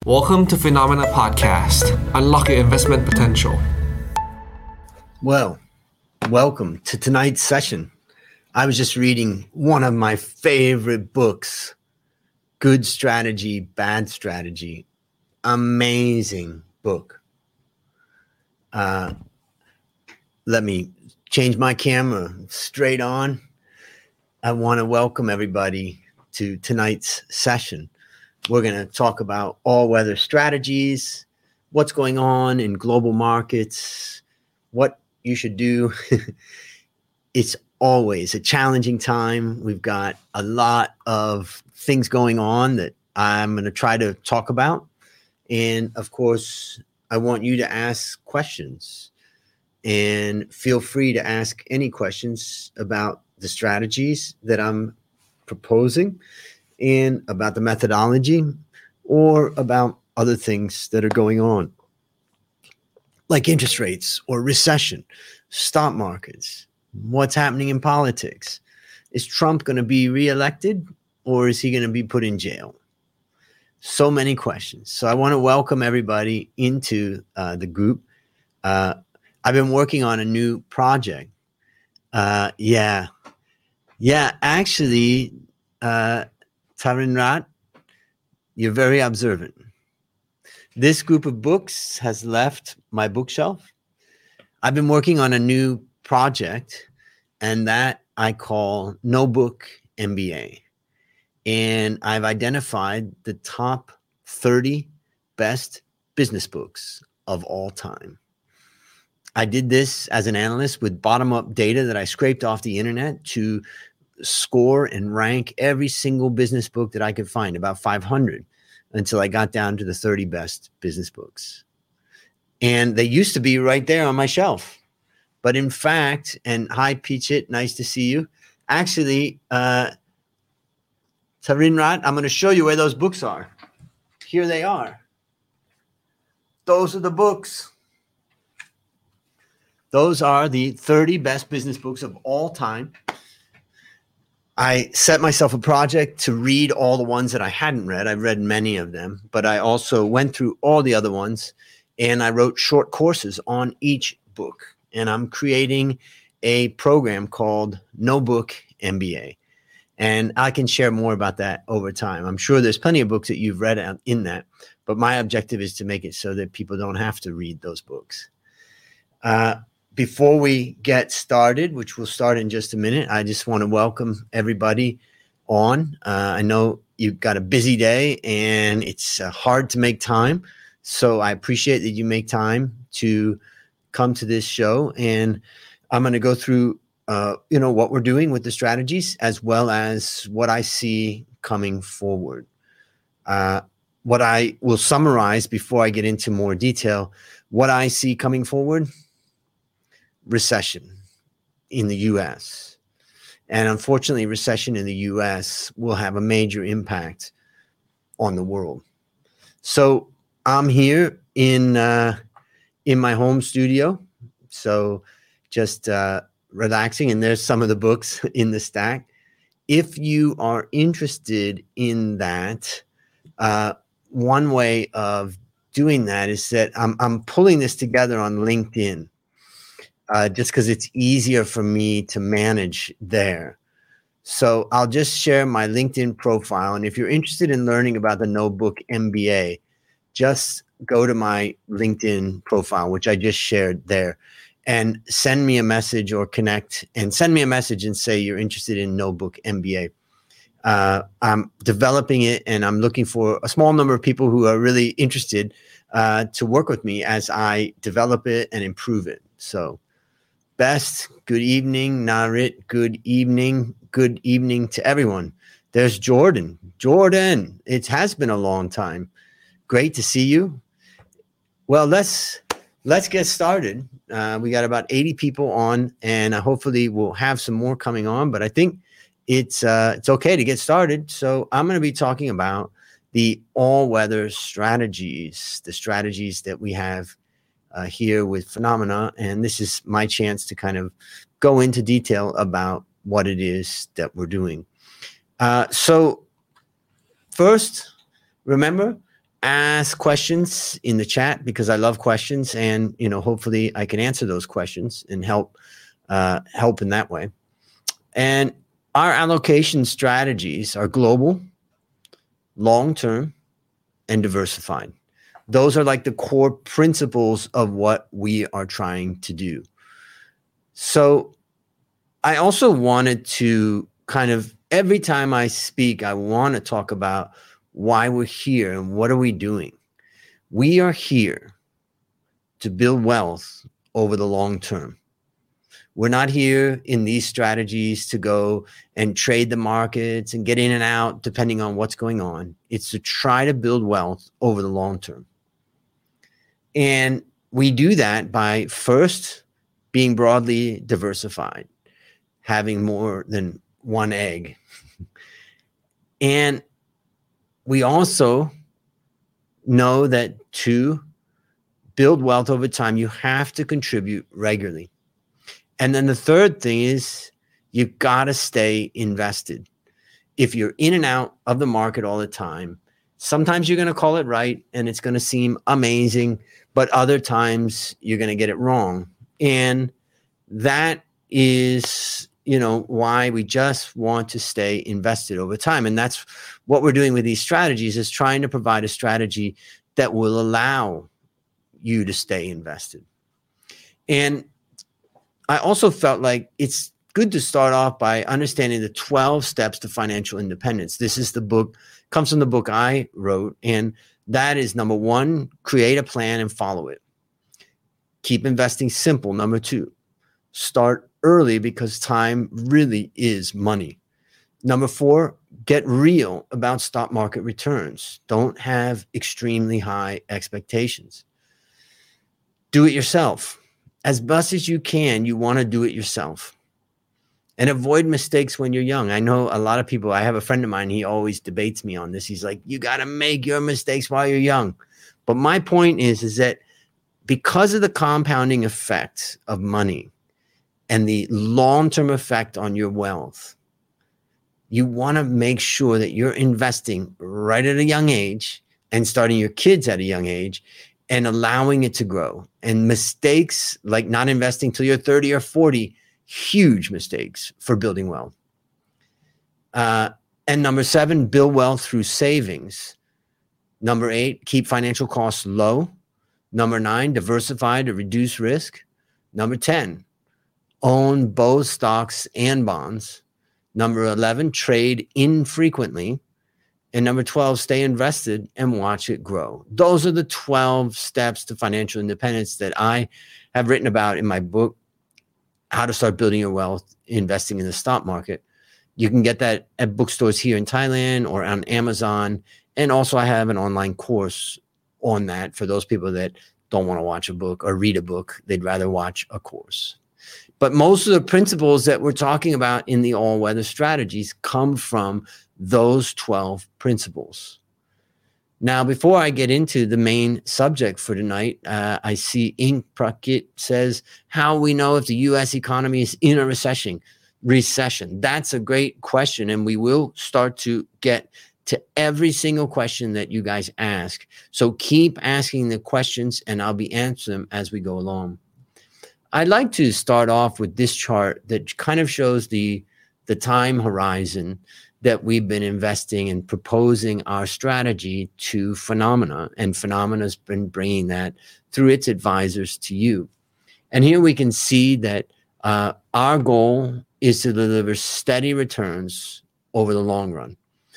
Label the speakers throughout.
Speaker 1: Welcome to Phenomena Podcast. Unlock your investment potential.
Speaker 2: Well, welcome to tonight's session. I was just reading one of my favorite books, Good Strategy, Bad Strategy. Amazing book. Let me change my camera straight on. I want to welcome everybody to tonight's session. We're going to talk about all-weather strategies, what's going on in global markets, what you should do. It's always a challenging time. We've got a lot of things going on that I'm going to try to talk about. And of course, I want you to ask questions, and feel free to ask any questions about the strategies that I'm proposing and about the methodology or about other things that are going on, like interest rates or recession, stock markets, what's happening in politics. Is Trump going to be reelected, or is he going to be put in jail? So many questions. So I want to welcome everybody into the group. I've been working on a new project. Actually, Tarinrat, you're very observant. This group of books has left my bookshelf. I've been working on a new project, and that I call No Book MBA. And I've identified the top 30 best business books of all time. I did this as an analyst with bottom-up data that I scraped off the internet to score and rank every single business book that I could find, about 500, until I got down to the 30 best business books. And they used to be right there on my shelf. But in fact, and hi, Peachit, nice to see you. Actually, Tarinrat, I'm going to show you where those books are. Here they are. Those are the books. Those are the 30 best business books of all time. I set myself a project to read all the ones that I hadn't read. I've read many of them, but I also went through all the other ones, and I wrote short courses on each book. And I'm creating a program called No Book MBA. And I can share more about that over time. I'm sure there's plenty of books that you've read in that, but my objective is to make it so that people don't have to read those books. Before we get started, which we'll start in just a minute, I just want to welcome everybody on. I know you've got a busy day and it's hard to make time. So I appreciate that you make time to come to this show. And I'm going to go through, what we're doing with the strategies, as well as what I see coming forward. What I will summarize before I get into more detail, what I see coming forward: recession in the U.S. And unfortunately, recession in the U.S. will have a major impact on the world. So I'm here in my home studio, so just relaxing. And there's some of the books in the stack. If you are interested in that, one way of doing that is that I'm pulling this together on LinkedIn. Just because it's easier for me to manage there. So I'll just share my LinkedIn profile. And if you're interested in learning about the No Book MBA, just go to my LinkedIn profile, which I just shared there, and send me a message or connect and send me a message and say you're interested in No Book MBA. I'm developing it, and I'm looking for a small number of people who are really interested to work with me as I develop it and improve it. So Best, good evening. Narit, good evening. Good evening to everyone. There's Jordan. Jordan, it has been a long time. Great to see you. Well, let's get started. We got about 80 people on, and hopefully we'll have some more coming on. But I think it's okay to get started. So I'm going to be talking about the all-weather strategies, the strategies that we have here with Phenomena, and this is my chance to kind of go into detail about what it is that we're doing. So first, remember, ask questions in the chat because I love questions, and hopefully I can answer those questions and help in that way. And our allocation strategies are global, long-term, and diversified. Those are like the core principles of what we are trying to do. So I also wanted to kind of, every time I speak, I want to talk about why we're here and what are we doing. We are here to build wealth over the long term. We're not here in these strategies to go and trade the markets and get in and out depending on what's going on. It's to try to build wealth over the long term. And we do that by first being broadly diversified, having more than one egg. And we also know that to build wealth over time, you have to contribute regularly. And then the third thing is you got to stay invested. If you're in and out of the market all the time, sometimes you're going to call it right and it's going to seem amazing, but other times you're going to get it wrong. And that is, why we just want to stay invested over time. And that's what we're doing with these strategies, is trying to provide a strategy that will allow you to stay invested. And I also felt like it's good to start off by understanding the 12 steps to financial independence. This is the book, comes from the book I wrote. And that is number 1, create a plan and follow it. Keep investing simple. Number 2, start early because time really is money. Number 4, get real about stock market returns. Don't have extremely high expectations. Do it yourself. As best as you can, you want to do it yourself. And avoid mistakes when you're young. I know a lot of people, I have a friend of mine, he always debates me on this. He's like, you got to make your mistakes while you're young. But my point is that because of the compounding effect of money and the long-term effect on your wealth, you want to make sure that you're investing right at a young age and starting your kids at a young age and allowing it to grow. And mistakes like not investing till you're 30 or 40, huge mistakes for building wealth. And number 7, build wealth through savings. Number 8, keep financial costs low. Number 9, diversify to reduce risk. Number 10, own both stocks and bonds. Number 11, trade infrequently. And number 12, stay invested and watch it grow. Those are the 12 steps to financial independence that I have written about in my book, How to Start Building Your Wealth Investing in the Stock Market. You can get that at bookstores here in Thailand or on Amazon. And also I have an online course on that for those people that don't want to watch a book or read a book. They'd rather watch a course. But most of the principles that we're talking about in the all-weather strategies come from those 12 principles. Now, before I get into the main subject for tonight, I see Ink Prakit says, how we know if the U.S. economy is in a recession? That's a great question, and we will start to get to every single question that you guys ask. So keep asking the questions, and I'll be answering them as we go along. I'd like to start off with this chart that kind of shows the time horizon that we've been investing and proposing our strategy to Phenomena, and Phenomena's been bringing that through its advisors to you. And here we can see that our goal is to deliver steady returns over the long run.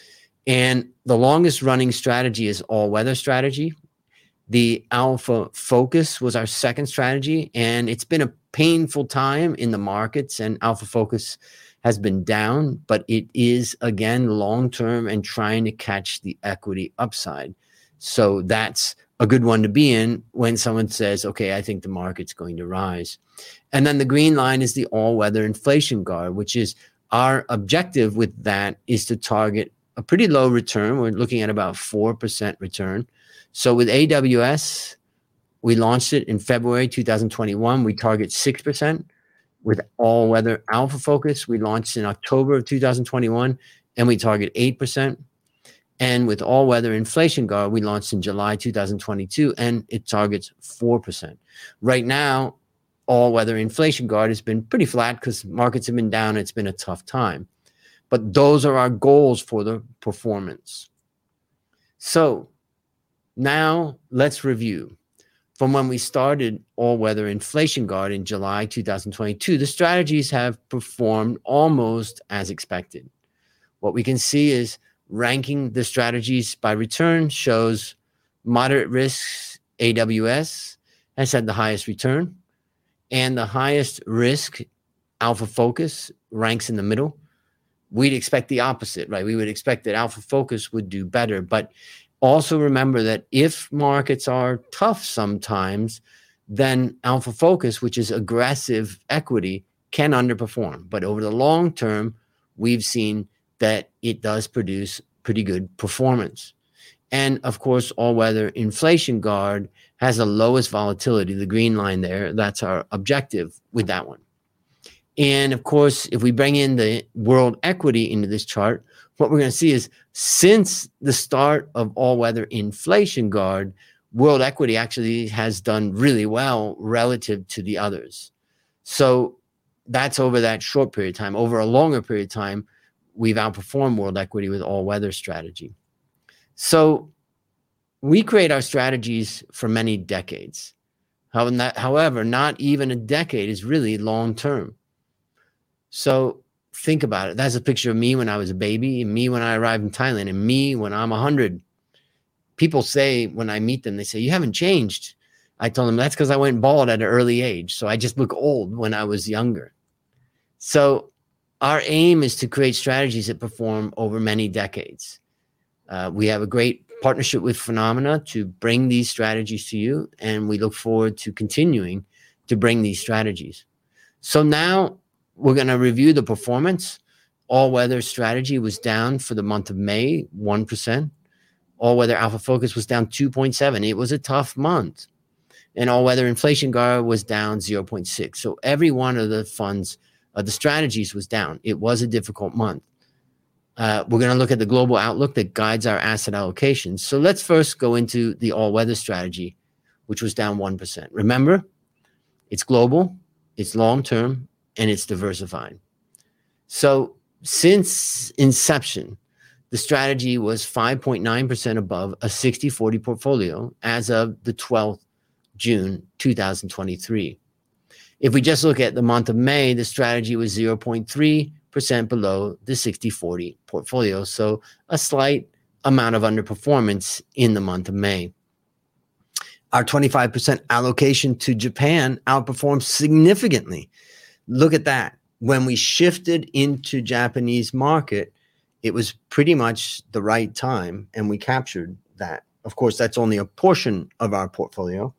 Speaker 2: And the longest running strategy is all-weather strategy. The Alpha Focus was our second strategy, and it's been a painful time in the markets, and Alpha Focus has been down, but it is, again, long-term and trying to catch the equity upside. So that's a good one to be in when someone says, okay, I think the market's going to rise. And then the green line is the all-weather inflation guard, which is our objective with that is to target a pretty low return. We're looking at about 4% return. So with AWS, we launched it in February 2021. We target 6%. With all-weather Alpha Focus, we launched in October of 2021, and we target 8%. And with All Weather Inflation Guard, we launched in July 2022, and it targets 4%. Right now, All Weather Inflation Guard has been pretty flat because markets have been down. It's been a tough time. But those are our goals for the performance. So now let's review. From when we started All Weather Inflation Guard in July 2022, the strategies have performed almost as expected. What we can see is ranking the strategies by return shows moderate risks AWS has had the highest return, and the highest risk Alpha Focus ranks in the middle. We'd expect the opposite, right? We would expect that Alpha Focus would do better. But also remember that if markets are tough sometimes, then Alpha Focus, which is aggressive equity, can underperform. But over the long term, we've seen that it does produce pretty good performance. And of course, All Weather Inflation Guard has the lowest volatility, the green line there. That's our objective with that one. And of course, if we bring in the world equity into this chart, what we're going to see is since the start of All Weather Inflation Guard, world equity actually has done really well relative to the others. So that's over that short period of time. Over a longer period of time, we've outperformed world equity with All Weather strategy. So we create our strategies for many decades. However, not even a decade is really long term. So think about it. That's a picture of me when I was a baby, and me when I arrived in Thailand, and me when I'm 100. People say when I meet them, they say, "You haven't changed." I told them that's because I went bald at an early age. So I just look old when I was younger. So our aim is to create strategies that perform over many decades. We have a great partnership with Phenomena to bring these strategies to you, and we look forward to continuing to bring these strategies. So now we're going to review the performance. All Weather strategy was down for the month of May, 1%. All Weather Alpha Focus was down 2.7. It was a tough month. And All Weather Inflation Guard was down 0.6. So every one of the funds, the strategies was down. It was a difficult month. We're going to look at the global outlook that guides our asset allocation. So let's first go into the All Weather strategy, which was down 1%. Remember, it's global, it's long-term, and it's diversified. So since inception, the strategy was 5.9% above a 60-40 portfolio as of the 12th June 2023. If we just look at the month of May, the strategy was 0.3% below the 60-40 portfolio. So a slight amount of underperformance in the month of May. Our 25% allocation to Japan outperformed significantly. Look at that. When we shifted into Japanese market, it was pretty much the right time, and we captured that. Of course, that's only a portion of our portfolio.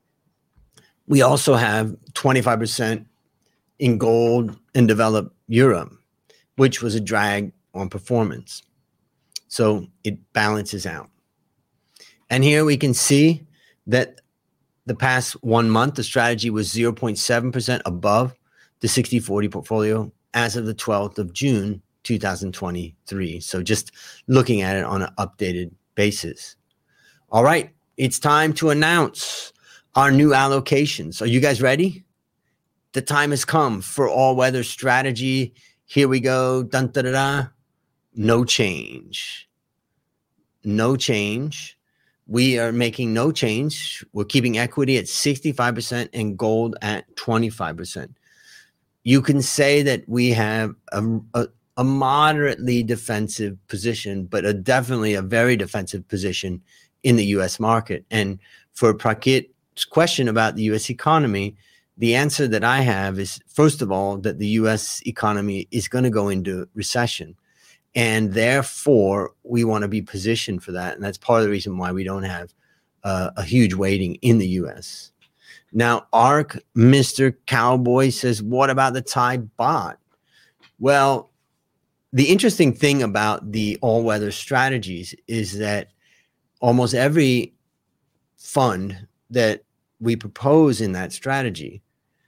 Speaker 2: We also have 25% in gold and developed Europe, which was a drag on performance. So it balances out. And here we can see that the past 1 month, the strategy was 0.7% above the 60-40 portfolio as of the 12th of June, 2023. So just looking at it on an updated basis. All right, it's time to announce our new allocations. Are you guys ready? The time has come for All Weather strategy. Here we go. Dun, da, da, da. No change. No change. We are making no change. We're keeping equity at 65% and gold at 25%. You can say that we have a moderately defensive position, but definitely a very defensive position in the U.S. market. And for Prakit's question about the U.S. economy, the answer that I have is, first of all, that the U.S. economy is going to go into recession. And therefore, we want to be positioned for that. And that's part of the reason why we don't have a huge weighting in the U.S. Now, ARK, Mr. Cowboy says, what about the Thai baht? Well, the interesting thing about the all-weather strategies is that almost every fund that we propose in that strategy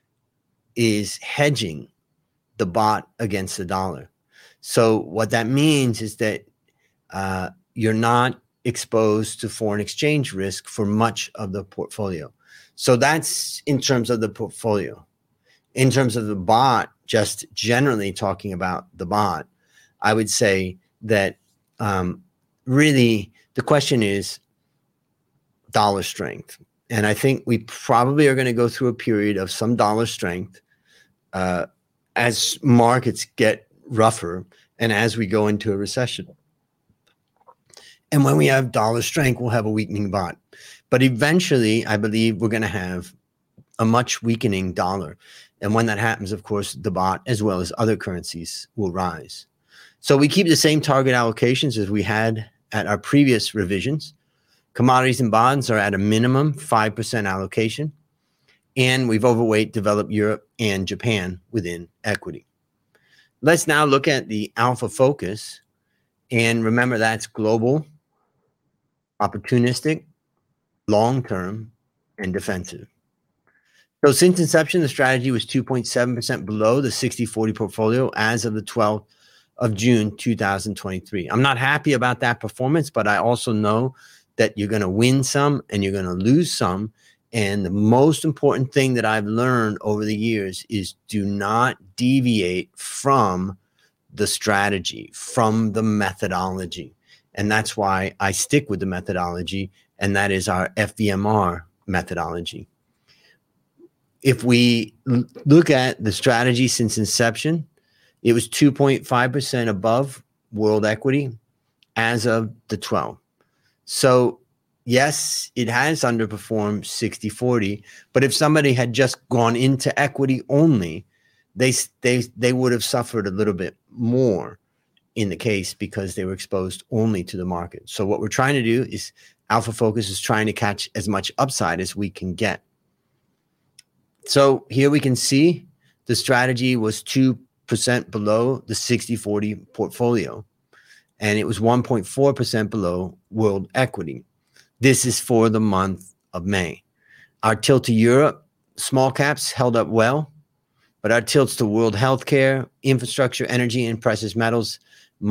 Speaker 2: is hedging the baht against the dollar. So what that means is that you're not exposed to foreign exchange risk for much of the portfolio. So that's in terms of the portfolio. In terms of the bot, just generally talking about the bot, I would say that really the question is dollar strength. And I think we probably are going to go through a period of some dollar strength as markets get rougher and as we go into a recession. And when we have dollar strength, we'll have a weakening baht. But eventually, I believe we're going to have a much weakening dollar. And when that happens, of course, the baht, as well as other currencies, will rise. So we keep the same target allocations as we had at our previous revisions. Commodities and bonds are at a minimum 5% allocation. And we've overweight developed Europe and Japan within equity. Let's now look at the Alpha Focus. And remember, that's global, opportunistic, long-term, and defensive. So since inception, the strategy was 2.7% below the 60-40 portfolio as of the 12th of June, 2023. I'm not happy about that performance, but I also know that you're going to win some and you're going to lose some. And the most important thing that I've learned over the years is do not deviate from the strategy, from the methodology. And that's why I stick with the methodology, and that is our FVMR methodology. If we look at the strategy since inception, it was 2.5% above world equity as of the 12th. So yes, it has underperformed 60-40, but if somebody had just gone into equity only, they would have suffered a little bit more in the case because they were exposed only to the market. So what we're trying to do is Alpha Focus is trying to catch as much upside as we can get. So here we can see the strategy was 2% below the 60-40 portfolio, and it was 1.4% below world equity. This is for the month of May. Our tilt to Europe, small caps held up well, but our tilts to world healthcare, infrastructure, energy, and precious metals,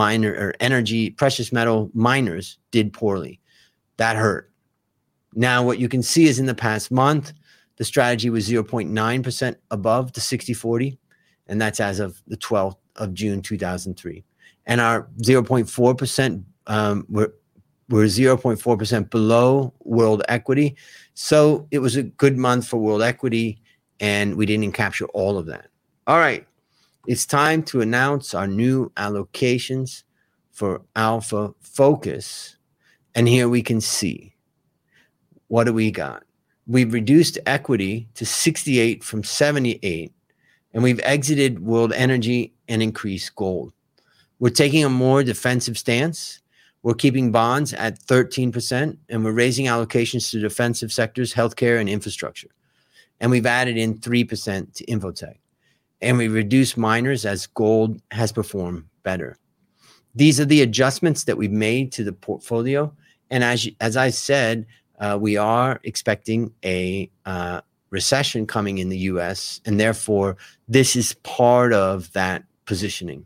Speaker 2: precious metal miners did poorly. That hurt. Now, what you can see is in the past month, the strategy was 0.9% above the 60-40, and that's as of the 12th of June, 2003. And our 0.4%, we're 0.4% below world equity. So it was a good month for world equity, and we didn't capture all of that. All right, it's time to announce our new allocations for Alpha Focus. And here we can see, what do we got? We've reduced equity to 68 from 78, and we've exited world energy and increased gold. We're taking a more defensive stance. We're keeping bonds at 13%, and we're raising allocations to defensive sectors, healthcare, and infrastructure. And we've added in 3% to Infotech. And we reduced miners as gold has performed better. These are the adjustments that we've made to the portfolio. And as I said, we are expecting a recession coming in the U.S., and therefore this is part of that positioning.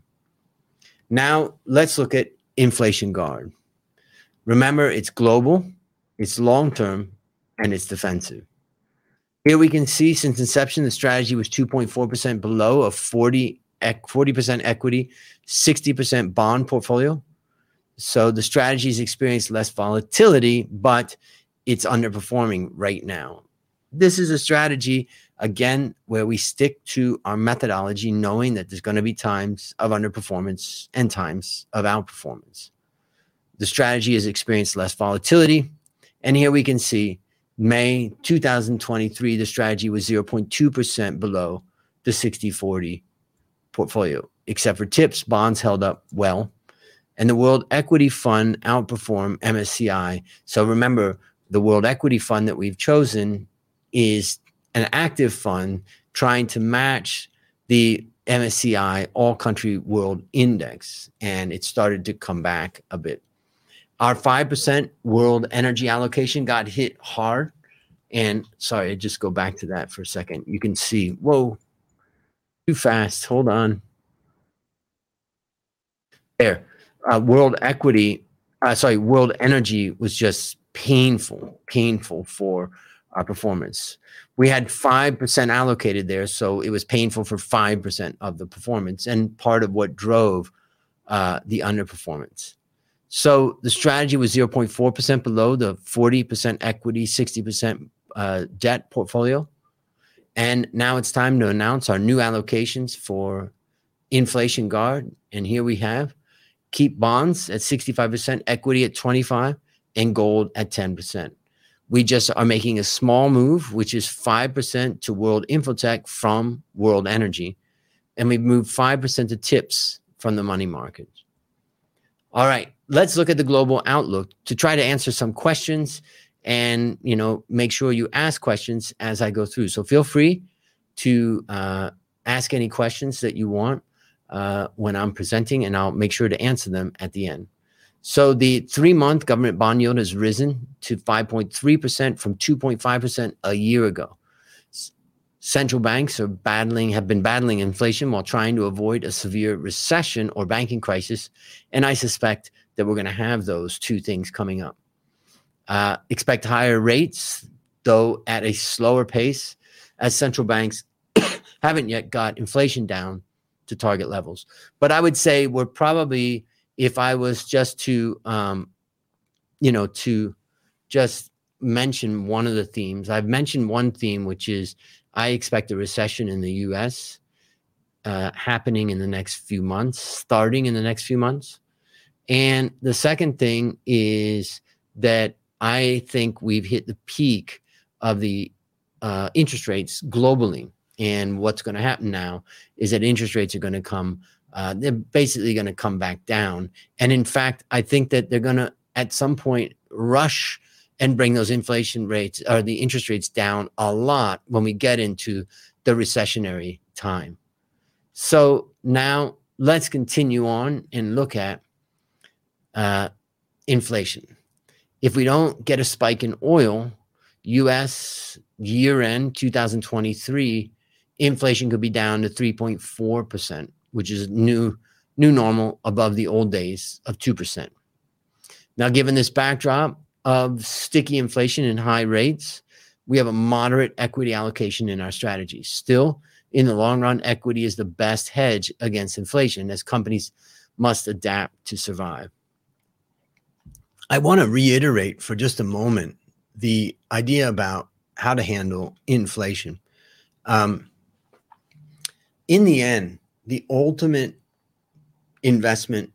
Speaker 2: Now let's look at Inflation Guard. Remember, it's global, it's long-term, and it's defensive. Here we can see since inception, the strategy was 2.4% below a 40% equity, 60% bond portfolio. So the strategy has experienced less volatility, but it's underperforming right now. This is a strategy, again, where we stick to our methodology, knowing that there's going to be times of underperformance and times of outperformance. The strategy has experienced less volatility. And here we can see May 2023, the strategy was 0.2% below the 60-40 portfolio. Except for tips, bonds held up well. And the World Equity Fund outperformed MSCI. So remember, the World Equity Fund that we've chosen is an active fund trying to match the MSCI All Country World Index. And it started to come back a bit. Our 5% world energy allocation got hit hard. And sorry, just go back to that for a second. You can see, whoa, too fast. Hold on. There. World equity World Energy was just painful for our performance. We had 5% allocated there, so it was painful for 5% of the performance, and part of what drove the underperformance. So the strategy was 0.4% below the 40% equity, 60% debt portfolio. And now it's time to announce our new allocations for Inflation Guard. And here we have keep bonds at 65%, equity at 25%, and gold at 10%. We just are making a small move, which is 5% to World Infotech from World Energy. And we've moved 5% to TIPS from the money market. All right, let's look at the global outlook to try to answer some questions and, make sure you ask questions as I go through. So feel free to ask any questions that you want when I'm presenting, and I'll make sure to answer them at the end. So the 3-month government bond yield has risen to 5.3% from 2.5% a year ago. Central banks have been battling inflation while trying to avoid a severe recession or banking crisis. And I suspect that we're going to have those two things coming up. Expect higher rates, though at a slower pace, as central banks haven't yet got inflation down to target levels. But I would say we're probably, if I was just to, to just mention one of the themes, I've mentioned one theme, which is I expect a recession in the U.S. Happening in the next few months, starting in the next few months. And the second thing is that I think we've hit the peak of the interest rates globally. And what's going to happen now is that interest rates are going to they're basically going to come back down. And in fact, I think that they're going to, at some point, rush and bring those inflation rates or the interest rates down a lot when we get into the recessionary time. So now let's continue on and look at inflation. If we don't get a spike in oil, U.S. year-end 2023, inflation could be down to 3.4%, which is new normal above the old days of 2%. Now, given this backdrop of sticky inflation and high rates, we have a moderate equity allocation in our strategy. Still, in the long run, equity is the best hedge against inflation, as companies must adapt to survive. I want to reiterate for just a moment the idea about how to handle inflation. In the end, the ultimate investment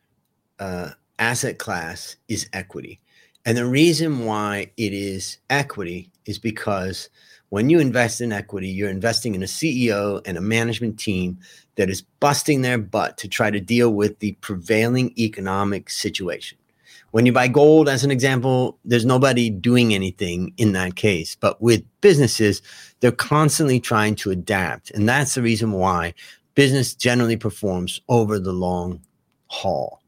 Speaker 2: asset class is equity. And the reason why it is equity is because when you invest in equity, you're investing in a CEO and a management team that is busting their butt to try to deal with the prevailing economic situation. When you buy gold, as an example, there's nobody doing anything in that case. But with businesses, they're constantly trying to adapt. And that's the reason why business generally performs over the long haul.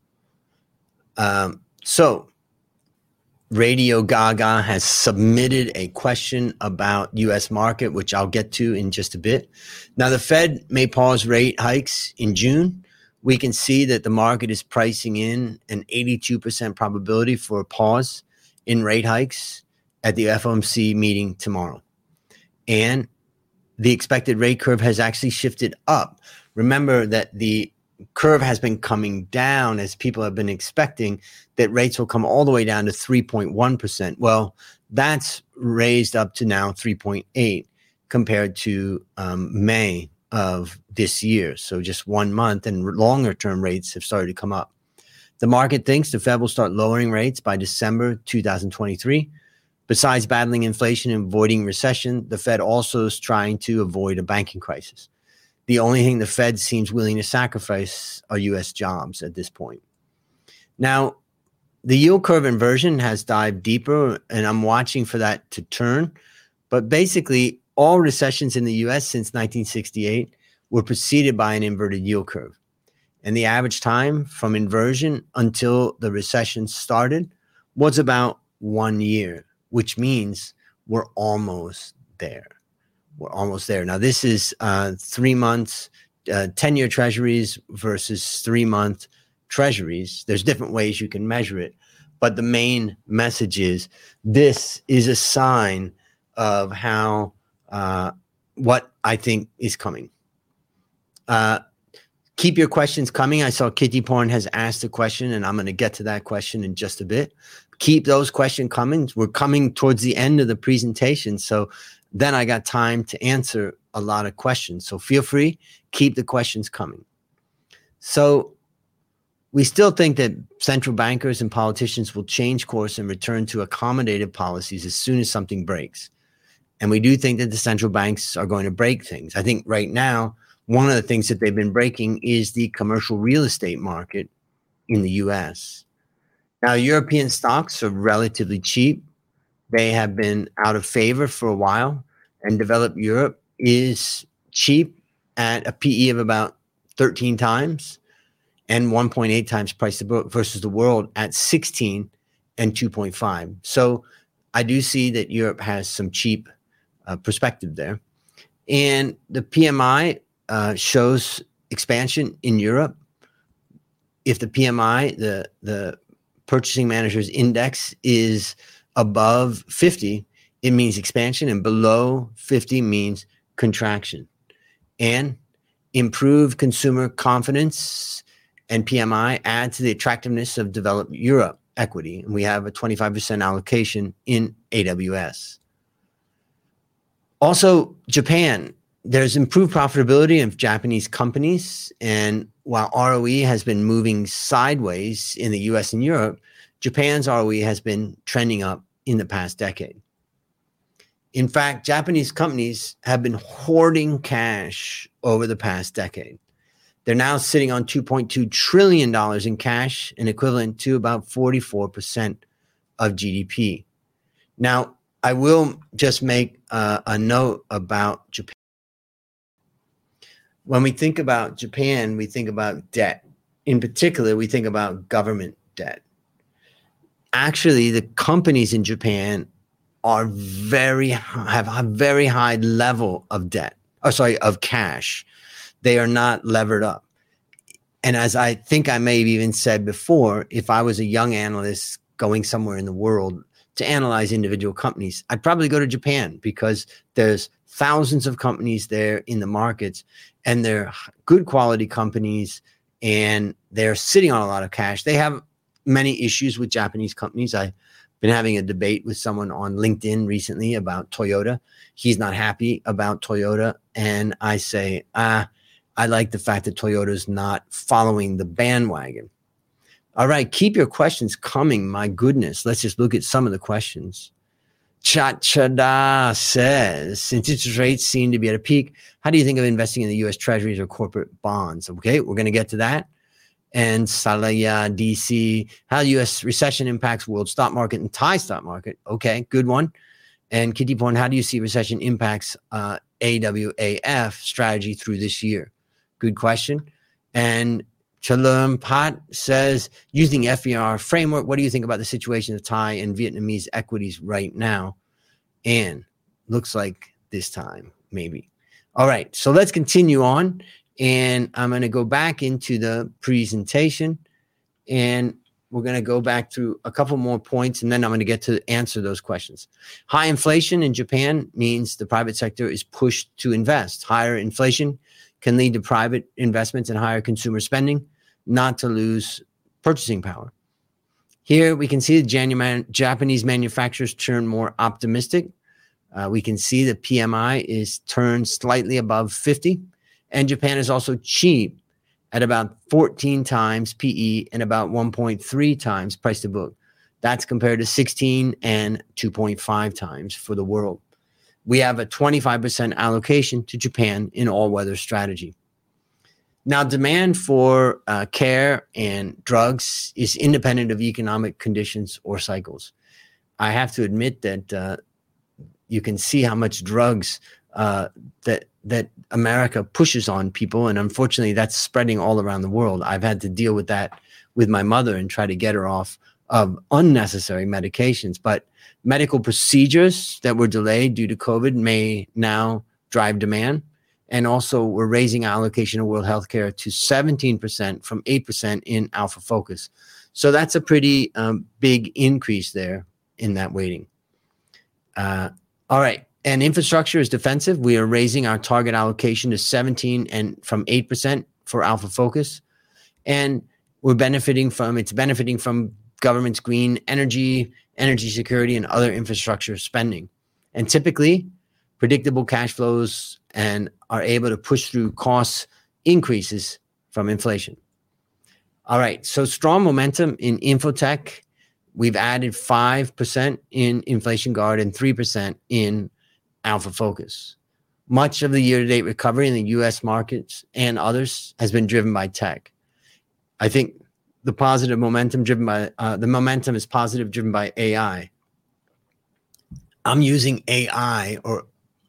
Speaker 2: So Radio Gaga has submitted a question about U.S. market, which I'll get to in just a bit. Now, the Fed may pause rate hikes in June. We can see that the market is pricing in an 82% probability for a pause in rate hikes at the FOMC meeting tomorrow. And the expected rate curve has actually shifted up. Remember that the curve has been coming down as people have been expecting that rates will come all the way down to 3.1%. Well, that's raised up to now 3.8 compared to May of this year. So just 1 month, and longer term rates have started to come up. The market thinks the Fed will start lowering rates by December 2023. Besides battling inflation and avoiding recession, the Fed also is trying to avoid a banking crisis. The only thing the Fed seems willing to sacrifice are U.S. jobs at this point. Now, the yield curve inversion has dived deeper, and I'm watching for that to turn. But basically, all recessions in the U.S. since 1968 were preceded by an inverted yield curve. And the average time from inversion until the recession started was about 1 year, which means we're almost there. We're almost there. Now, this is 3 months, 10-year treasuries versus 3-month treasuries. There's different ways you can measure it. But the main message is this is a sign of how what I think is coming. Keep your questions coming. I saw Kitty Porn has asked a question, and I'm going to get to that question in just a bit. Keep those questions coming. We're coming towards the end of the presentation, so then I got time to answer a lot of questions. So feel free, keep the questions coming. So we still think that central bankers and politicians will change course and return to accommodative policies as soon as something breaks. And we do think that the central banks are going to break things. I think right now, one of the things that they've been breaking is the commercial real estate market in the US. Now, European stocks are relatively cheap. They have been out of favor for a while, and developed Europe is cheap at a PE of about 13 times and 1.8 times price to book versus the world at 16 and 2.5. So I do see that Europe has some cheap perspective there. And the PMI shows expansion in Europe. If the PMI, the Purchasing Managers Index, is above 50, it means expansion, and below 50 means contraction. And improved consumer confidence and PMI add to the attractiveness of developed Europe equity. And we have a 25% allocation in AWS. Also, Japan. There's improved profitability of Japanese companies, and while ROE has been moving sideways in the US and Europe, Japan's ROE has been trending up in the past decade. In fact, Japanese companies have been hoarding cash over the past decade. They're now sitting on $2.2 trillion in cash, and equivalent to about 44% of GDP. Now, I will just make a note about Japan. When we think about Japan, we think about debt. In particular, we think about government debt. Actually, the companies in Japan have a very high level of debt. Of cash. They are not levered up. And as I think I may have even said before, if I was a young analyst going somewhere in the world to analyze individual companies, I'd probably go to Japan because there's thousands of companies there in the markets, and they're good quality companies, and they're sitting on a lot of cash. They have many issues with Japanese companies. I've been having a debate with someone on LinkedIn recently about Toyota. He's not happy about Toyota. And I say, I like the fact that Toyota's not following the bandwagon. All right, keep your questions coming. My goodness, let's just look at some of the questions. Chachada says, since interest rates seem to be at a peak, how do you think of investing in the U.S. Treasuries or corporate bonds? Okay, we're going to get to that. And Salaya DC, how U.S. recession impacts world stock market and Thai stock market. Okay, good one. And Kitty Porn, how do you see recession impacts AWAF strategy through this year? Good question. And Chalum Pat says, using FER framework, what do you think about the situation of Thai and Vietnamese equities right now? And looks like this time, maybe. All right, so let's continue on. And I'm going to go back into the presentation, and we're going to go back through a couple more points, and then I'm going to get to answer those questions. High inflation in Japan means the private sector is pushed to invest. Higher inflation can lead to private investments and higher consumer spending, not to lose purchasing power. Here we can see the Japanese manufacturers turn more optimistic. We can see the PMI is turned slightly above 50, and Japan is also cheap at about 14 times PE and about 1.3 times price to book. That's compared to 16 and 2.5 times for the world. We have a 25% allocation to Japan in all-weather strategy. Now, demand for care and drugs is independent of economic conditions or cycles. I have to admit that you can see how much drugs that America pushes on people, and unfortunately, that's spreading all around the world. I've had to deal with that with my mother and try to get her off of unnecessary medications. But medical procedures that were delayed due to COVID may now drive demand. And also, we're raising allocation of World Healthcare to 17% from 8% in Alpha Focus. So that's a pretty big increase there in that weighting. All right. And infrastructure is defensive. We are raising our target allocation to 17 and from 8% for Alpha Focus. And it's benefiting from government's green energy security, and other infrastructure spending. And typically, predictable cash flows and are able to push through cost increases from inflation. All right, so strong momentum in Infotech. We've added 5% in Inflation Guard and 3% in Alpha Focus. Much of the year-to-date recovery in the U.S. markets and others has been driven by tech. I think the momentum is positive, driven by AI. I'm using AI or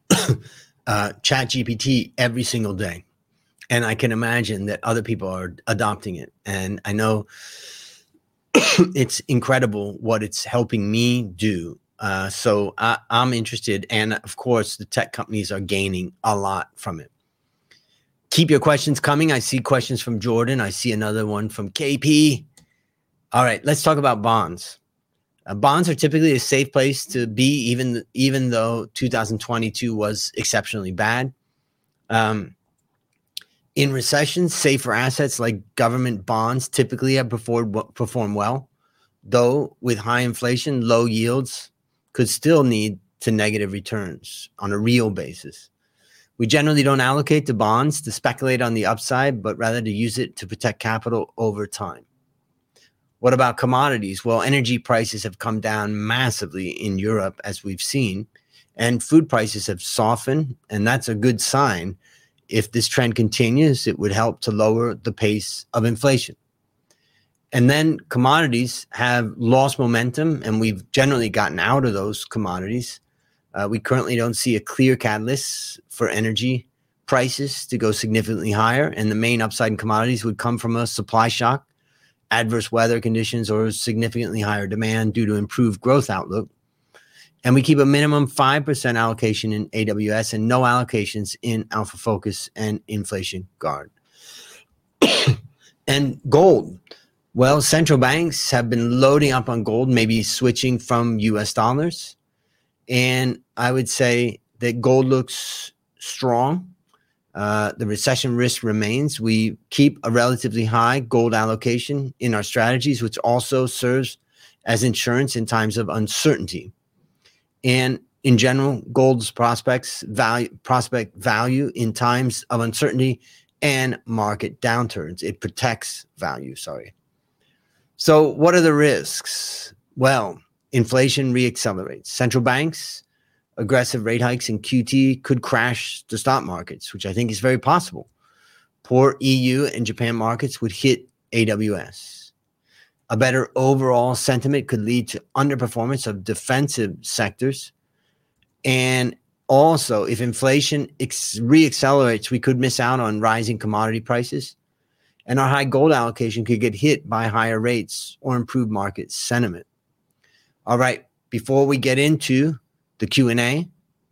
Speaker 2: ChatGPT every single day, and I can imagine that other people are adopting it. And I know it's incredible what it's helping me do. So I'm interested, and of course, the tech companies are gaining a lot from it. Keep your questions coming. I see questions from Jordan. I see another one from KP. All right, let's talk about bonds. Bonds are typically a safe place to be, even though 2022 was exceptionally bad. In recessions, safer assets like government bonds typically have performed well, though with high inflation, low yields could still lead to negative returns on a real basis. We generally don't allocate to bonds to speculate on the upside, but rather to use it to protect capital over time. What about commodities? Well, energy prices have come down massively in Europe, as we've seen, and food prices have softened, and that's a good sign. If this trend continues, it would help to lower the pace of inflation. And then commodities have lost momentum, and we've generally gotten out of those commodities. We currently don't see a clear catalyst for energy prices to go significantly higher, and the main upside in commodities would come from a supply shock, adverse weather conditions, or significantly higher demand due to improved growth outlook. And we keep a minimum 5% allocation in AWS and no allocations in Alpha Focus and Inflation Guard. And gold. Well, central banks have been loading up on gold, maybe switching from US dollars. And I would say that gold looks strong. The recession risk remains. We keep a relatively high gold allocation in our strategies, which also serves as insurance in times of uncertainty. And in general, gold's prospect value in times of uncertainty and market downturns. It protects value, So what are the risks? Well, inflation reaccelerates. Central banks, aggressive rate hikes in QT could crash the stock markets, which I think is very possible. Poor EU and Japan markets would hit AWS. A better overall sentiment could lead to underperformance of defensive sectors. And also, if inflation reaccelerates, we could miss out on rising commodity prices. And our high gold allocation could get hit by higher rates or improved market sentiment. All right, before we get into the Q&A,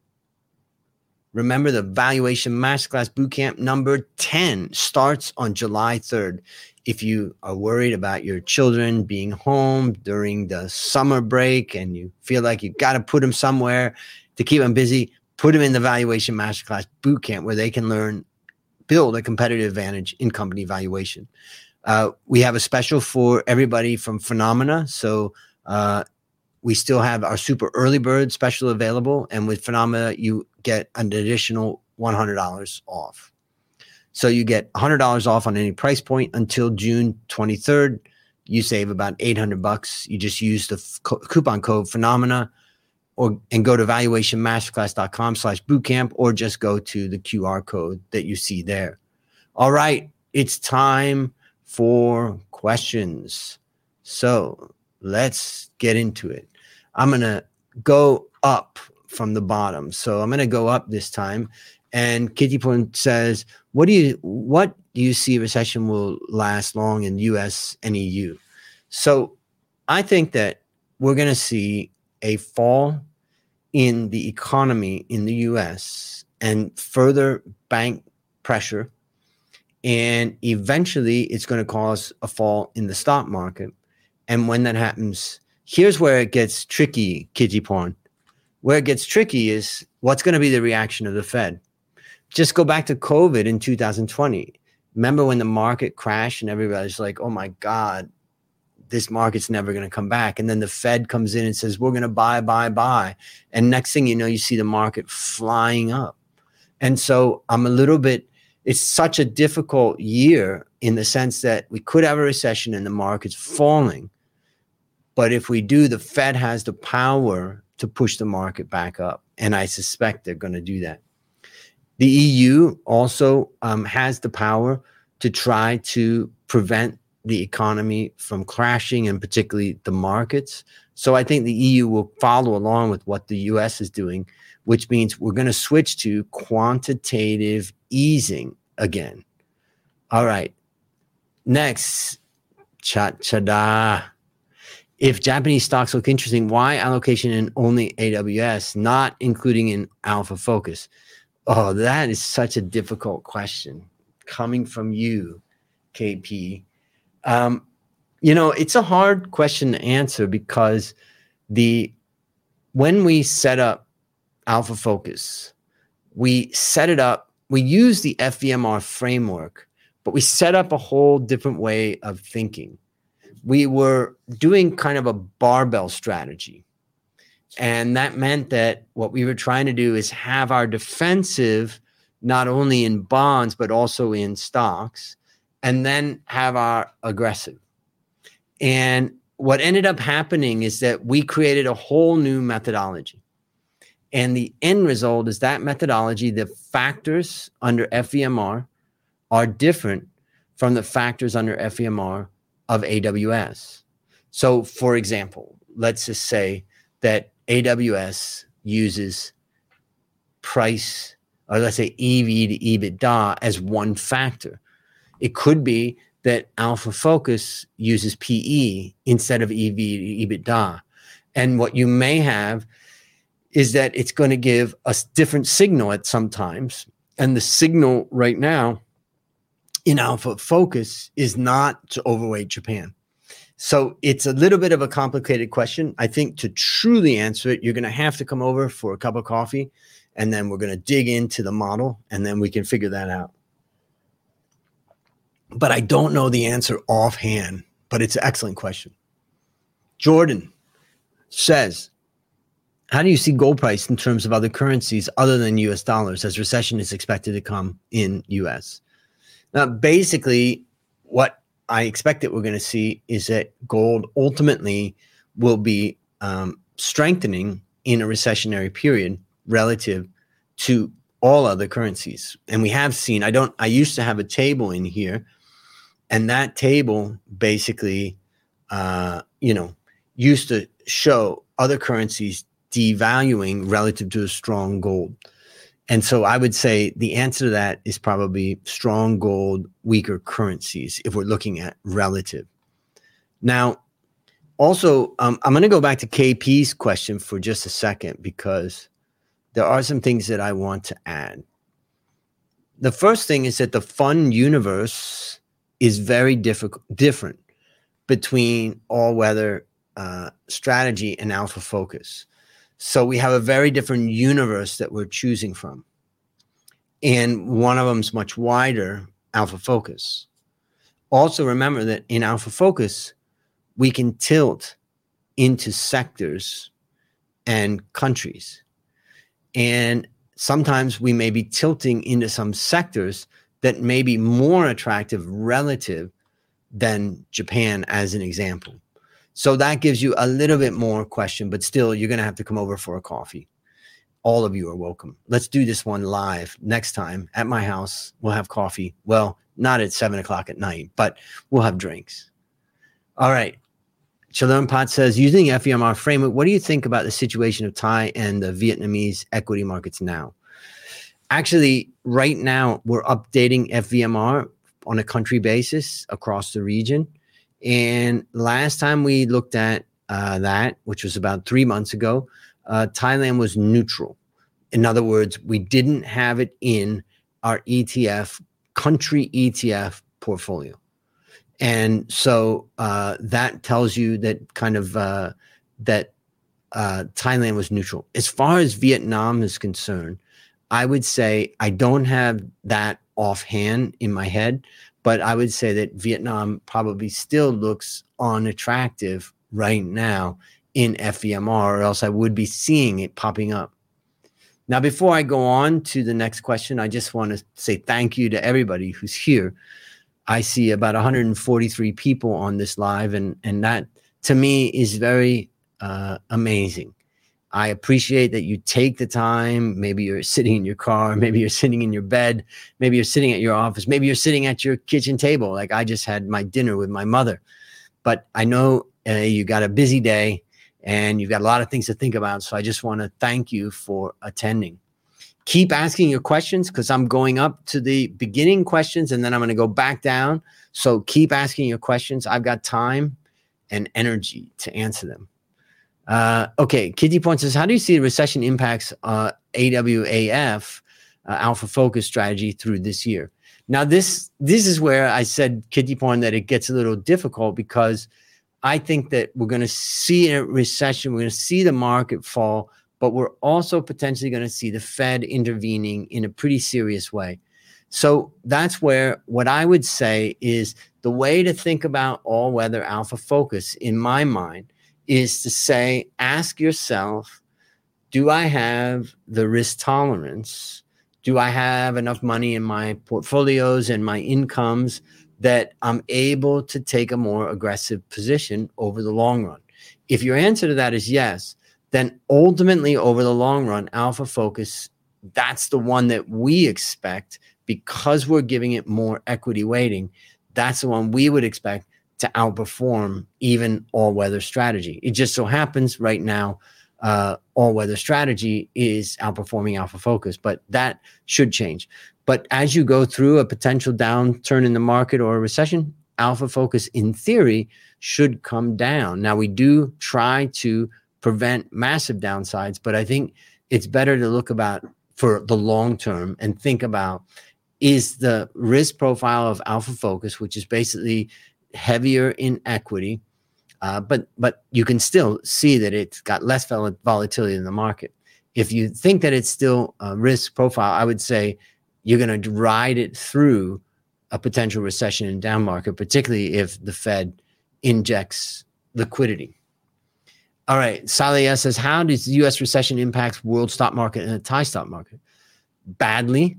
Speaker 2: remember the Valuation Masterclass Bootcamp number 10 starts on July 3rd. If you are worried about your children being home during the summer break and you feel like you got to put them somewhere to keep them busy, put them in the Valuation Masterclass Bootcamp where they can build a competitive advantage in company valuation. We have a special for everybody from Phenomena. So we still have our super early bird special available. And with Phenomena, you get an additional $100 off. So you get $100 off on any price point until June 23rd. You save about $800. You just use the coupon code Phenomena and go to valuationmasterclass.com/bootcamp, or just go to the QR code that you see there. All right, it's time for questions. So let's get into it. I'm going to go up from the bottom. So I'm going to go up this time. And Kitty Point says, what do you see recession will last long in US and EU? So I think that we're going to see a fall in the economy in the US and further bank pressure. And eventually it's going to cause a fall in the stock market. And when that happens, here's where it gets tricky, Kitty Porn. Where it gets tricky is what's going to be the reaction of the Fed. Just go back to COVID in 2020. Remember when the market crashed and everybody's like, oh my God, this market's never going to come back. And then the Fed comes in and says, we're going to buy. And next thing you know, you see the market flying up. And so it's such a difficult year in the sense that we could have a recession and the market's falling. But if we do, the Fed has the power to push the market back up. And I suspect they're going to do that. The EU also has the power to try to prevent the economy from crashing, and particularly the markets. So I think the EU will follow along with what the US is doing, which means we're going to switch to quantitative easing again. All right. Next, cha-cha-da. If Japanese stocks look interesting, why allocation in only AWS, not including in Alpha Focus? Oh, that is such a difficult question coming from you, KP. It's a hard question to answer because when we set up Alpha Focus, we set it up, we use the FVMR framework, but we set up a whole different way of thinking. We were doing kind of a barbell strategy. And that meant that what we were trying to do is have our defensive not only in bonds, but also in stocks, and then have our aggressive. And what ended up happening is that we created a whole new methodology. And the end result is that methodology, the factors under FVMR are different from the factors under FVMR of AWS. So, for example, let's just say that AWS uses price, or let's say EV to EBITDA as one factor. It could be that Alpha Focus uses PE instead of EV to EBITDA. And what you may have is that it's going to give a different signal at some times. And the signal right now in Alpha Focus is not to overweight Japan. So it's a little bit of a complicated question. I think to truly answer it, you're going to have to come over for a cup of coffee, and then we're going to dig into the model, and then we can figure that out. But I don't know the answer offhand, but it's an excellent question. Jordan says, how do you see gold price in terms of other currencies other than US dollars as recession is expected to come in US? Now, basically, what I expect that we're going to see is that gold ultimately will be strengthening in a recessionary period relative to all other currencies. And we have seen, I used to have a table in here, and that table basically, used to show other currencies devaluing relative to a strong gold. And so I would say the answer to that is probably strong gold, weaker currencies, if we're looking at relative. Now, also, I'm going to go back to KP's question for just a second, because there are some things that I want to add. The first thing is that the fund universe is very different between all-weather strategy and Alpha Focus. So we have a very different universe that we're choosing from. And one of them is much wider, Alpha Focus. Also remember that in Alpha Focus, we can tilt into sectors and countries. And sometimes we may be tilting into some sectors that may be more attractive relative than Japan, as an example. So that gives you a little bit more question, but still, you're going to have to come over for a coffee. All of you are welcome. Let's do this one live next time at my house. We'll have coffee. Well, not at 7 o'clock at night, but we'll have drinks. All right. Shalom Pot says, using the FVMR framework, what do you think about the situation of Thai and the Vietnamese equity markets now? Actually, right now, we're updating FVMR on a country basis across the region. And last time we looked at that, which was about 3 months ago, Thailand was neutral. In other words, we didn't have it in our ETF, country ETF portfolio. And so that tells you that kind of that Thailand was neutral. As far as Vietnam is concerned, I would say I don't have that offhand in my head, but I would say that Vietnam probably still looks unattractive right now in FVMR, or else I would be seeing it popping up. Now, before I go on to the next question, I just want to say thank you to everybody who's here. I see about 143 people on this live, and that to me is very amazing. I appreciate that you take the time. Maybe you're sitting in your car, maybe you're sitting in your bed, maybe you're sitting at your office, maybe you're sitting at your kitchen table. Like I just had my dinner with my mother. But I know you got a busy day and you've got a lot of things to think about. So I just want to thank you for attending. Keep asking your questions because I'm going up to the beginning questions and then I'm going to go back down. So keep asking your questions. I've got time and energy to answer them. Okay, Kitty Point says, how do you see the recession impacts AWAF, Alpha Focus strategy through this year? Now, this is where I said, Kitty Point, that it gets a little difficult because I think that we're going to see a recession. We're going to see the market fall, but we're also potentially going to see the Fed intervening in a pretty serious way. So that's where what I would say is the way to think about all-weather Alpha Focus, in my mind, is to say, ask yourself, do I have the risk tolerance? Do I have enough money in my portfolios and my incomes that I'm able to take a more aggressive position over the long run? If your answer to that is yes, then ultimately over the long run, Alpha Focus, that's the one that we expect because we're giving it more equity weighting. That's the one we would expect to outperform even all-weather strategy. It just so happens right now, all-weather strategy is outperforming Alpha Focus, but that should change. But as you go through a potential downturn in the market or a recession, Alpha Focus, in theory, should come down. Now, we do try to prevent massive downsides, but I think it's better to look about for the long term and think about, is the risk profile of Alpha Focus, which is basically heavier in equity, but you can still see that it's got less volatility in the market. If you think that it's still a risk profile, I would say you're going to ride it through a potential recession and down market, particularly if the Fed injects liquidity. All right, Saleh says, how does the U.S. recession impact world stock market and the Thai stock market? Badly.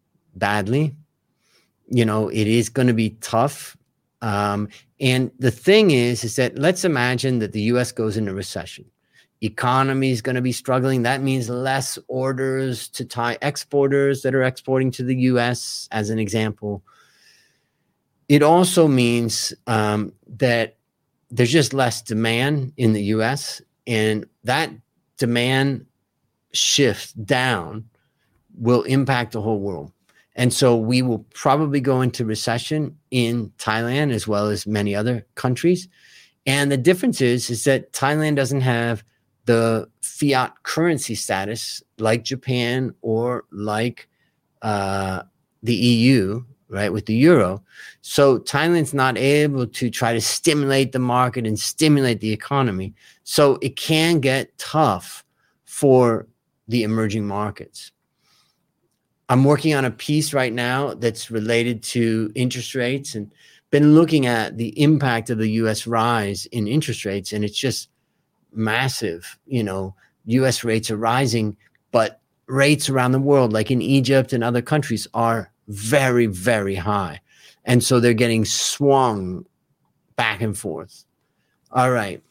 Speaker 2: You know, it is going to be tough. And the thing is that let's imagine that the U.S. goes into recession. Economy is going to be struggling. That means less orders to Thai exporters that are exporting to the U.S., as an example. It also means that there's just less demand in the U.S., and that demand shift down will impact the whole world. And so we will probably go into recession in Thailand as well as many other countries. And the difference is that Thailand doesn't have the fiat currency status like Japan or like the EU, right, with the euro. So Thailand's not able to try to stimulate the market and stimulate the economy. So it can get tough for the emerging markets. I'm working on a piece right now that's related to interest rates and been looking at the impact of the U.S. rise in interest rates, and it's just massive. You know, U.S. rates are rising, but rates around the world, like in Egypt and other countries, are very, very high. And so they're getting swung back and forth. All right.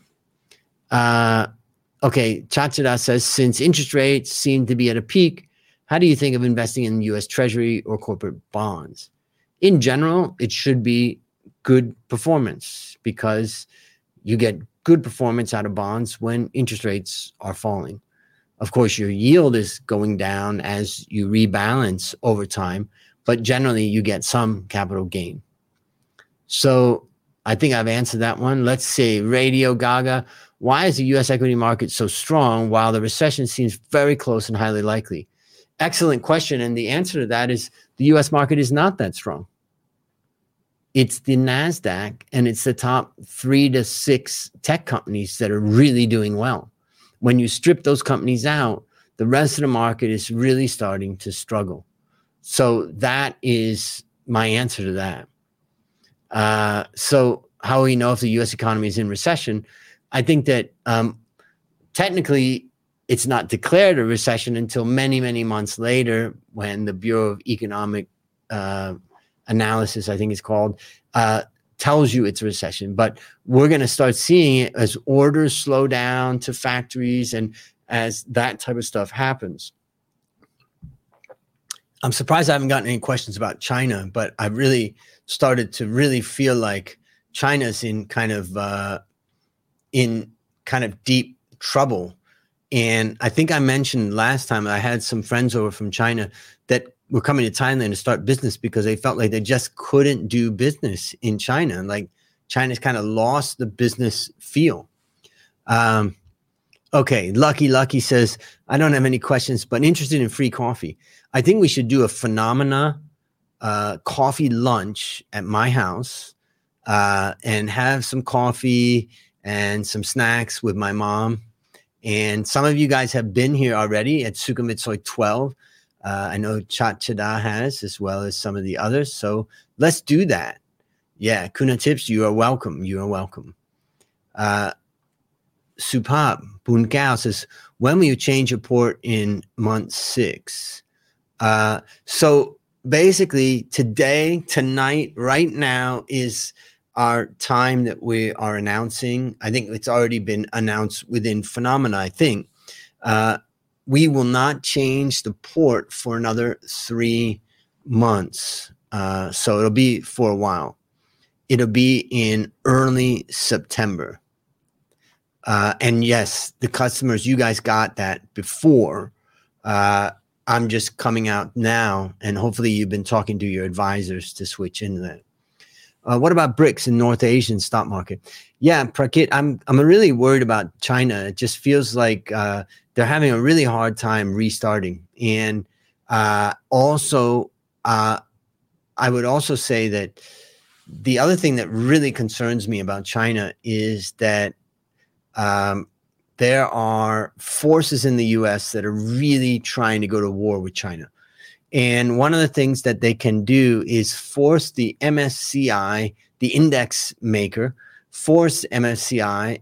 Speaker 2: Okay, Chachada says, since interest rates seem to be at a peak, how do you think of investing in U.S. Treasury or corporate bonds? In general, it should be good performance because you get good performance out of bonds when interest rates are falling. Of course, your yield is going down as you rebalance over time, but generally you get some capital gain. So I think I've answered that one. Let's see, Radio Gaga. Why is the U.S. equity market so strong while the recession seems very close and highly likely? Excellent question. And the answer to that is the U.S. market is not that strong. it's the NASDAQ and it's the top 3 to 6 tech companies that are really doing well. When you strip those companies out, the rest of the market is really starting to struggle. So that is my answer to that. So how do we know if the U.S. economy is in recession? I think that technically it's not declared a recession until many, many months later when the Bureau of Economic Analysis, I think it's called, tells you it's a recession. But we're going to start seeing it as orders slow down to factories and as that type of stuff happens. I'm surprised I haven't gotten any questions about China, but I really started to really feel like China's in kind of deep trouble. And I think I mentioned last time I had some friends over from China that were coming to Thailand to start business because they felt like they just couldn't do business in China. Like China's kind of lost the business feel. Okay, Lucky says, I don't have any questions, but interested in free coffee. I think we should do a phenomena coffee lunch at my house and have some coffee and some snacks with my mom. And some of you guys have been here already at Sukhumvit 12. I know Chat Chada has, as well as some of the others. So let's do that. Yeah, Kuna Tips, you are welcome. You are welcome. Supab Bunkao says, when will you change your port in month 6? So basically today, tonight, right now is our time that we are announcing. I think it's already been announced within Phenomena, I think. We will not change the port for another 3 months. So it'll be for a while. It'll be in early September. And yes, the customers, you guys got that before. I'm just coming out now, and hopefully you've been talking to your advisors to switch into that. What about BRICS in North Asian stock market? Yeah, Prakit, I'm really worried about China. It just feels like they're having a really hard time restarting. And also, I would also say that the other thing that really concerns me about China is that there are forces in the U.S. that are really trying to go to war with China. And one of the things that they can do is force the MSCI, the index maker, force MSCI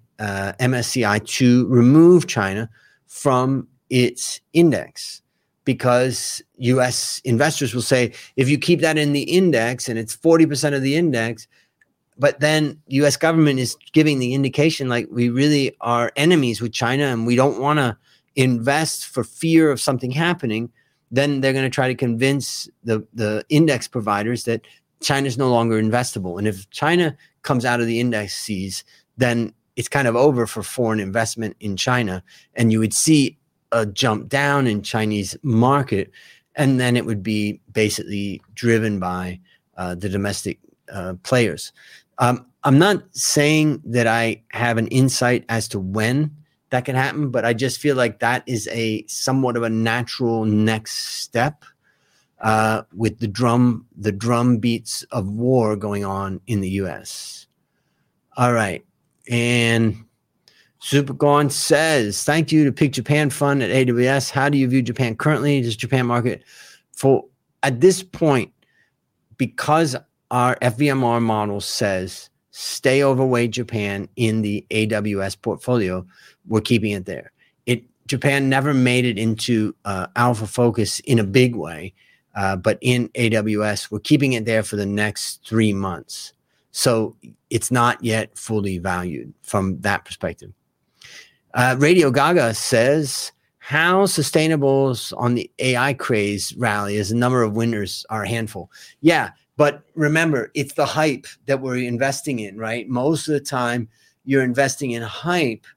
Speaker 2: to remove China from its index, because U.S. investors will say, if you keep that in the index and it's 40% of the index, but then U.S. government is giving the indication like we really are enemies with China and we don't want to invest for fear of something happening, then they're going to try to convince the index providers that China is no longer investable. And if China comes out of the indices, then it's kind of over for foreign investment in China. And you would see a jump down in Chinese market. And then it would be basically driven by the domestic players. I'm not saying that I have an insight as to when that can happen, but I just feel like that is a somewhat of a natural next step with the drum beats of war going on in the U.S. All right. And Supergone says, thank you to Pick Japan Fund at AWS. How do you view Japan currently? Does Japan market at this point, because our FVMR model says stay overweight Japan in the AWS portfolio, we're keeping it there. Japan never made it into alpha focus in a big way, but in AWS, we're keeping it there for the next 3 months. So it's not yet fully valued from that perspective. Radio Gaga says, how sustainable on the AI craze rally as the number of winners are a handful? Yeah, but remember, it's the hype that we're investing in, right? Most of the time, you're investing in hype.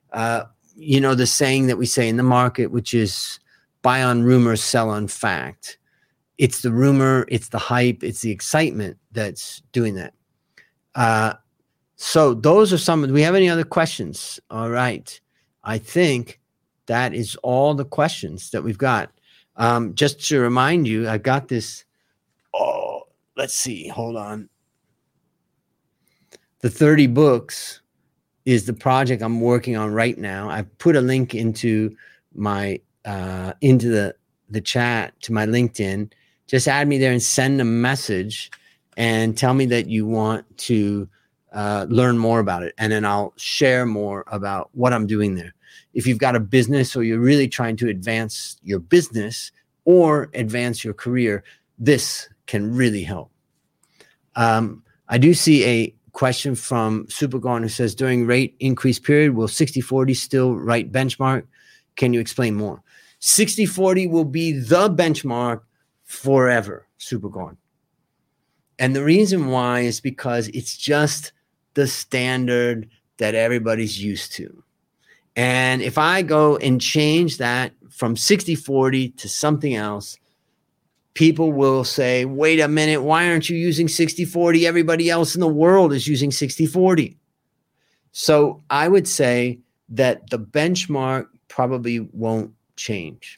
Speaker 2: The saying that we say in the market, which is buy on rumor, sell on fact. It's the rumor, it's the hype, it's the excitement that's doing that. So those are some. Do we have any other questions? All right. I think that is all the questions that we've got. Just to remind you, I got this. Oh, let's see. Hold on. The 30 books is the project I'm working on right now. I've put a link into my into the chat to my LinkedIn. Just add me there and send a message and tell me that you want to learn more about it. And then I'll share more about what I'm doing there. If you've got a business or you're really trying to advance your business or advance your career, this can really help. I do see a question from Supergone who says, during rate increase period, will 60-40 still right benchmark? Can you explain more? 60-40 will be the benchmark forever, Supergone. And the reason why is because it's just the standard that everybody's used to. And if I go and change that from 60-40 to something else, people will say, wait a minute, why aren't you using 60-40? Everybody else in the world is using 60-40. So I would say that the benchmark probably won't change.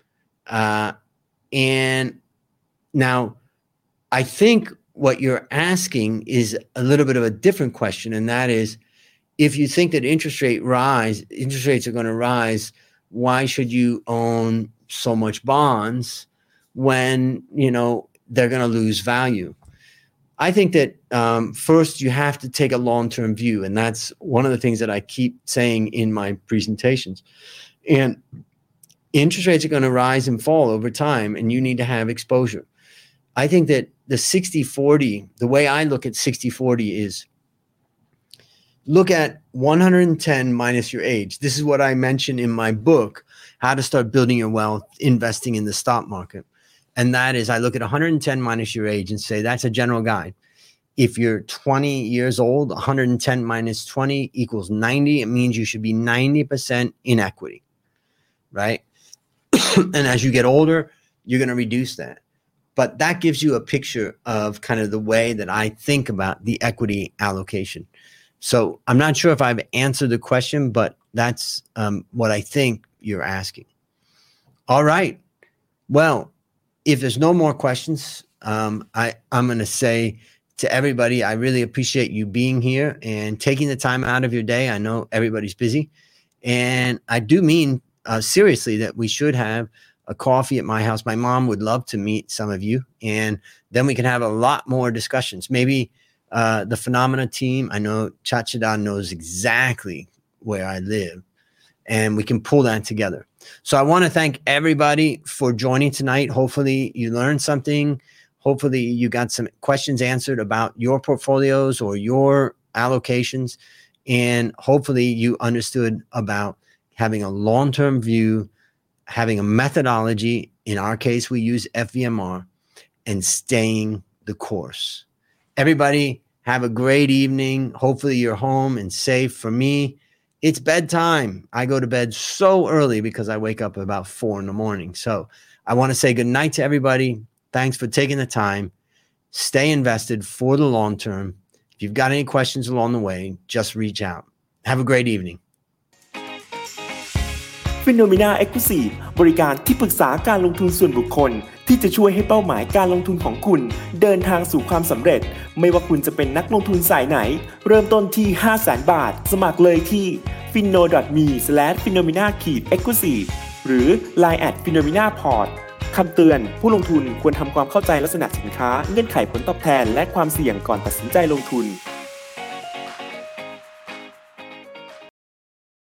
Speaker 2: And now I think what you're asking is a little bit of a different question. And that is, if you think that interest rates are going to rise, why should you own so much bonds when, they're going to lose value? I think that first you have to take a long-term view. And that's one of the things that I keep saying in my presentations. And interest rates are going to rise and fall over time, and you need to have exposure. I think that the 60-40, the way I look at 60-40 is look at 110 minus your age. This is what I mentioned in my book, How to Start Building Your Wealth, Investing in the Stock Market. And that is, I look at 110 minus your age and say, that's a general guide. If you're 20 years old, 110 minus 20 equals 90. It means you should be 90% in equity, right? And as you get older, you're going to reduce that. But that gives you a picture of kind of the way that I think about the equity allocation. So I'm not sure if I've answered the question, but that's what I think you're asking. All right. Well, if there's no more questions, I'm going to say to everybody, I really appreciate you being here and taking the time out of your day. I know everybody's busy. And I do mean seriously that we should have a coffee at my house. My mom would love to meet some of you, and then we can have a lot more discussions. Maybe the Phenomena team, I know Chachida knows exactly where I live, and we can pull that together. So I want to thank everybody for joining tonight. Hopefully you learned something. Hopefully you got some questions answered about your portfolios or your allocations, and hopefully you understood about having a long-term view, having a methodology. In our case, we use FVMR, and staying the course. Everybody have a great evening. Hopefully you're home and safe. For me, it's bedtime. I go to bed so early because I wake up about 4 a.m. So I want to say good night to everybody. Thanks for taking the time. Stay invested for the long term. If you've got any questions along the way, just reach out. Have a great evening.
Speaker 3: Phenomena Exclusive บริการที่ปรึกษาการลงทุนส่วนบุคคลที่จะช่วยให้เป้าหมายการลงทุนของคุณเดินทางสู่ความสำเร็จไม่ว่าคุณจะเป็นนักลงทุนสายไหนเริ่มต้นที่ 500,000 บาทสมัครเลยที่ finno.me/phenomena-exclusive หรือ Line @phenomena-port คำเตือนผู้ลงทุนควรทำความเข้าใจลักษณะสินค้าเงื่อนไขผลตอบแทนและความเสี่ยงก่อนตัดสินใจลงทุน